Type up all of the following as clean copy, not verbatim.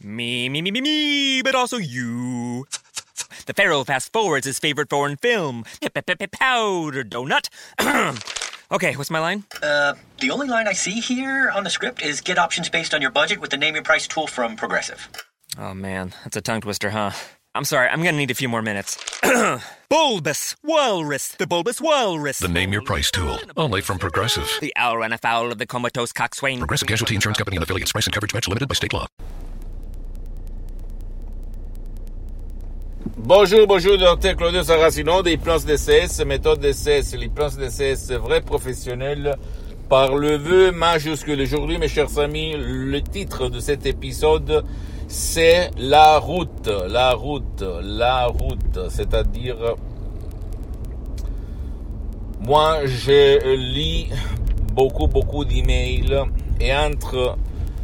Me, but also you. The Pharaoh fast forwards his favorite foreign film, Powder Donut. Okay, what's my line? The only line I see here on the script is get options based on your budget with the Name Your Price tool from Progressive. Oh man, that's a tongue twister, huh? I'm sorry, I'm gonna need a few more minutes. Bulbous Walrus, the Bulbous Walrus. The Name Your Price tool, only from Progressive. The owl ran afoul of the comatose coxswain. Progressive Casualty Insurance Company and affiliates. Price and coverage match limited by state law. Bonjour, Dr Claudio Saracino de l'hypnose DCS, méthode DCS, l'hypnose DCS vrai professionnel par le vœu majuscule. Aujourd'hui, mes chers amis, le titre de cet épisode, c'est la route, c'est-à-dire, moi, je lis beaucoup d'emails et entre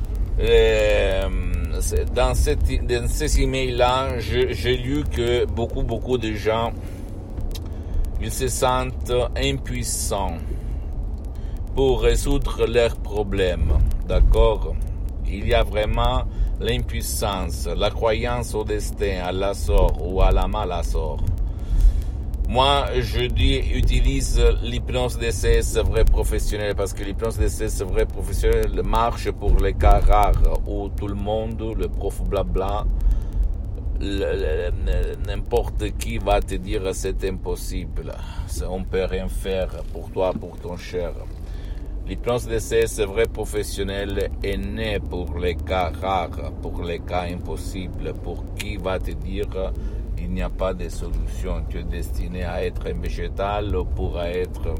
dans ces emails-là, j'ai lu que beaucoup de gens, ils se sentent impuissants pour résoudre leurs problèmes, d'accord? Il y a vraiment l'impuissance, la croyance au destin, à la sort ou à la malasort. Moi, je dis, utilise l'hypnose DCS vrai professionnel parce que l'hypnose DCS vrai professionnel marche pour les cas rares où tout le monde, le prof blabla, n'importe qui va te dire c'est impossible, on peut rien faire pour toi, pour ton cher. L'hypnose DCS vrai professionnel est né pour les cas rares, pour les cas impossibles, pour qui va te dire il n'y a pas de solution, tu es destiné à être un végétal pour être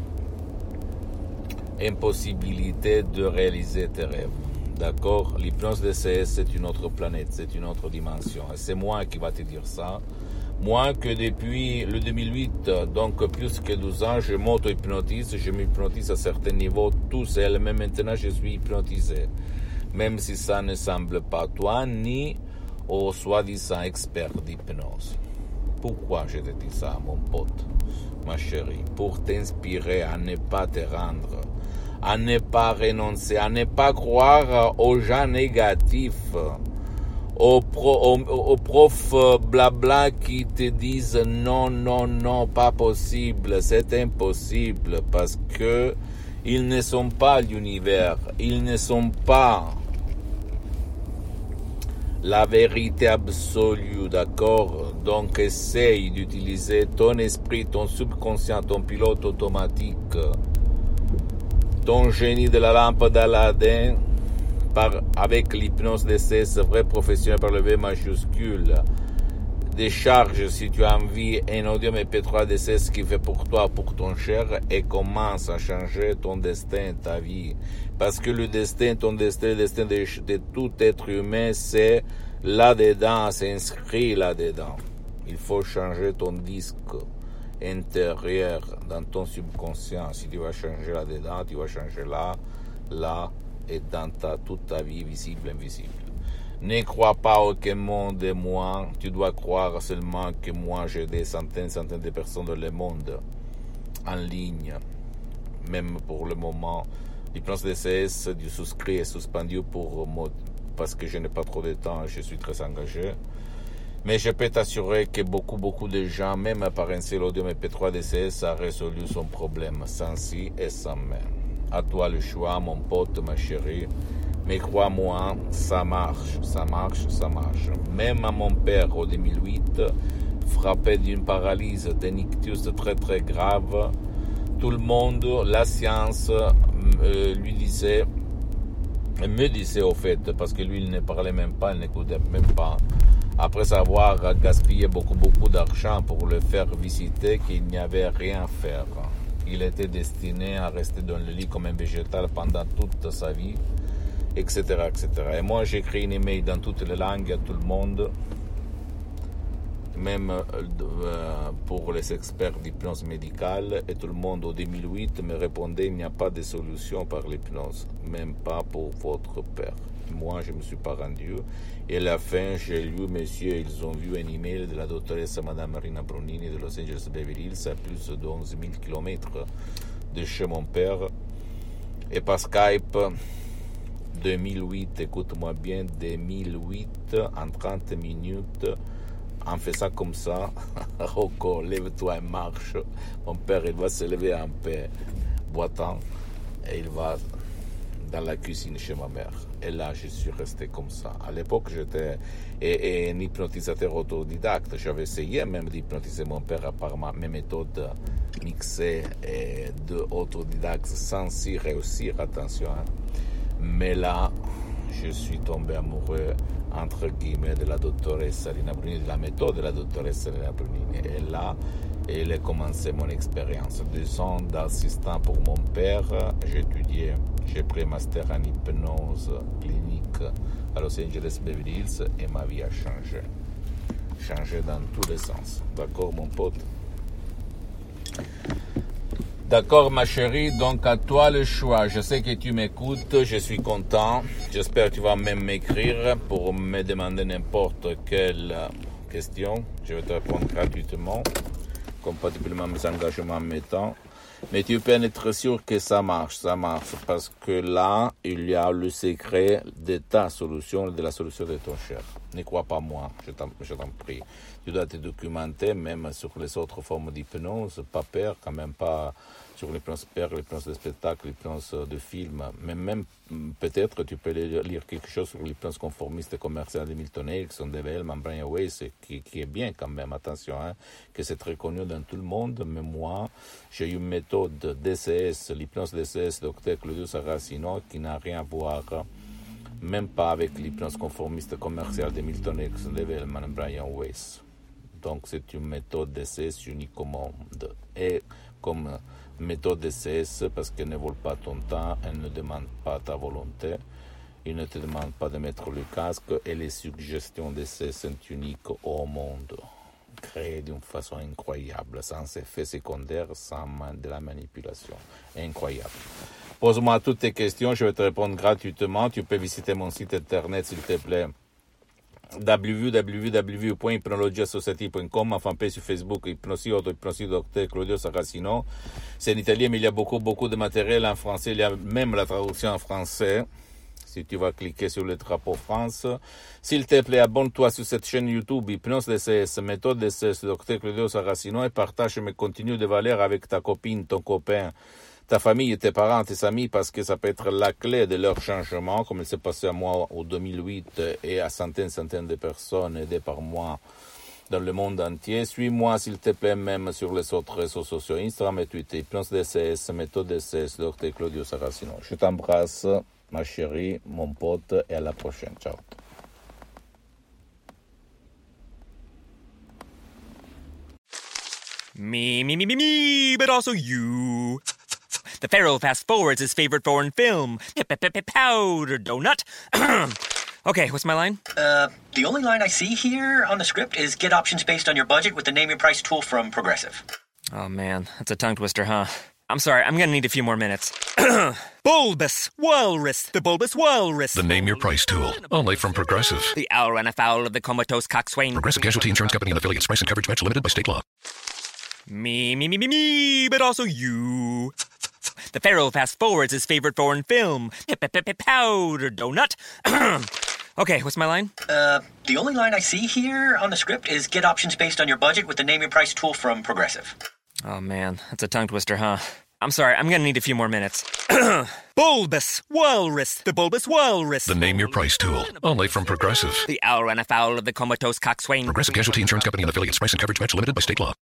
impossibilité de réaliser tes rêves. D'accord? L'hypnose DCS, c'est une autre planète, c'est une autre dimension. Et c'est moi qui va te dire ça. Moi que depuis le 2008, donc plus que 12 ans, je m'auto-hypnotise, je m'hypnotise à certains niveaux tout seul, même maintenant je suis hypnotisé. Même si ça ne semble pas toi, ni au soi-disant expert d'hypnose. Pourquoi je te dis ça, mon pote, ma chérie? Pour t'inspirer à ne pas te rendre, à ne pas renoncer, à ne pas croire aux gens négatifs, aux profs blabla qui te disent non, pas possible, c'est impossible, parce que ils ne sont pas l'univers, ils ne sont pas la vérité absolue, d'accord? Donc essaye d'utiliser ton esprit, ton subconscient, ton pilote automatique, ton génie de la lampe d'Aladin, avec l'hypnose DCS vrai professionnel par le V majuscule. Décharge, si tu as envie, un audio MP3 DCS qui fait pour toi, pour ton cher, et commence à changer ton destin, ta vie. Parce que le destin, ton destin, le destin de tout être humain, c'est là-dedans, c'est inscrit là-dedans. Il faut changer ton disque intérieur dans ton subconscient. Si tu vas changer là-dedans, tu vas changer là, et dans toute ta vie, visible, invisible. Ne crois pas aucun monde de moi, tu dois croire seulement que moi j'ai des centaines de personnes dans le monde en ligne. Même pour le moment, l'hypnose DCS du souscrit est suspendu parce que je n'ai pas trop de temps, je suis très engagé. Mais je peux t'assurer que beaucoup de gens, même par un seul audio MP3 DCS, a résolu son problème sans si et sans mais. À toi le choix, mon pote, ma chérie. Mais crois-moi, ça marche. Même à mon père, en 2008, frappé d'une paralysie, d'un ictus très grave, tout le monde, la science, me disait au fait, parce que lui, il ne parlait même pas, il n'écoutait même pas, après avoir gaspillé beaucoup d'argent pour le faire visiter, qu'il n'y avait rien à faire. Il était destiné à rester dans le lit comme un végétal pendant toute sa vie, etc. Et moi, j'écris une email dans toutes les langues à tout le monde, même pour les experts d'hypnose médicale, et tout le monde, en 2008, me répondait il n'y a pas de solution par l'hypnose, même pas pour votre père. Moi, je ne me suis pas rendu. Et à la fin, j'ai lu, messieurs, ils ont vu un email de la doctoresse Madame Marina Brunini de Los Angeles Beverly Hills, à plus de 11 000 kilomètres de chez mon père. Et par Skype, 2008, écoute-moi bien, 2008, en 30 minutes, on fait ça comme ça. Rocco, lève-toi et marche. Mon père, il va se lever un peu boitant et il va dans la cuisine chez ma mère. Et là, je suis resté comme ça. À l'époque, j'étais un hypnotisateur autodidacte. J'avais essayé même d'hypnotiser mon père par mes méthodes mixées et d'autodidacte sans y réussir, attention. Hein. Mais là, je suis tombé amoureux, entre guillemets, de la dottoressa Lina Brunini, de la méthode de la dottoressa Lina Brunini. Et là, il a commencé mon expérience. 2 ans d'assistant pour mon père, j'étudiais, j'ai pris master en hypnose clinique à Los Angeles Beverly Hills et ma vie a changé. Changé dans tous les sens. D'accord, mon pote? D'accord, ma chérie, donc à toi le choix. Je sais que tu m'écoutes, je suis content. J'espère que tu vas même m'écrire pour me demander n'importe quelle question. Je vais te répondre gratuitement, compatiblement à mes engagements mettant. Mais tu peux être sûr que ça marche, parce que là, il y a le secret de ta solution, de la solution de ton cher. Ne crois pas moi, je t'en prie. Tu dois te documenter, même sur les autres formes d'hypnose, pas peur, quand même pas sur l'hypnose peur, l'hypnose de spectacle, l'hypnose de film, mais même peut-être tu peux lire quelque chose sur l'hypnose conformiste commerciale de Milton Erickson, de Hellman, Brian Weiss, qui est bien quand même, attention, hein, que c'est très connu dans tout le monde, mais moi, j'ai une méthode DCS, l'hypnose DCS, Dr. Claudio Saracino, qui n'a rien à voir, même pas avec l'hypnose conformiste commerciale de Milton Erickson, de Hellman, Brian Weiss. Donc c'est une méthode DCS unique au monde. Et comme méthode DCS, parce qu'elle ne vole pas ton temps, elle ne demande pas ta volonté, il ne te demande pas de mettre le casque, et les suggestions DCS sont uniques au monde, créées d'une façon incroyable, sans effet secondaire, sans de la manipulation. Incroyable. Pose-moi toutes tes questions, je vais te répondre gratuitement. Tu peux visiter mon site internet, s'il te plaît, www.hypnologiasociety.com, enfin sur Facebook, Hypnosie Dr. Claudio Saracino. C'est en italien, mais il y a beaucoup de matériel en français, il y a même la traduction en français, si tu vas cliquer sur le drapeau France. S'il te plaît, abonne-toi sur cette chaîne YouTube, Hypnose DCS, méthode DCS, Dr. Claudio Saracino, et partage mes contenus de valeur avec ta copine, ton copain, ta famille, tes parents, tes amis, parce que ça peut être la clé de leur changement, comme il s'est passé à moi en 2008 et à centaines de personnes aidées par moi dans le monde entier. Suis-moi, s'il te plaît, même sur les autres réseaux sociaux, Instagram et Twitter, Hypnose DCS, méthode DCS, Dr. Claudio Saracino. Je t'embrasse, ma chérie, mon pote, et à la prochaine. Ciao. Me, but also you. The Pharaoh fast-forwards his favorite foreign film, Powder Donut. Okay, what's my line? The only line I see here on the script is get options based on your budget with the Name Your Price tool from Progressive. Oh man, that's a tongue twister, huh? I'm sorry, I'm gonna need a few more minutes. Bulbous Walrus, the Bulbous Walrus. The Name Your Price tool, only from Progressive. The owl ran afoul of the comatose coxswain. Progressive Casualty Insurance Company and affiliates. Price and coverage match limited by state law. Me, but also you. The Pharaoh fast-forwards his favorite foreign film, Powder Donut. Okay, what's my line? The only line I see here on the script is get options based on your budget with the Name Your Price tool from Progressive. Oh man, that's a tongue twister, huh? I'm sorry, I'm gonna need a few more minutes. Bulbous Walrus, the Bulbous Walrus. The Name Your Price tool, only from Progressive. The owl ran afoul of the comatose coxswain. Progressive Casualty Insurance Company and affiliates. Price and coverage match limited by state law.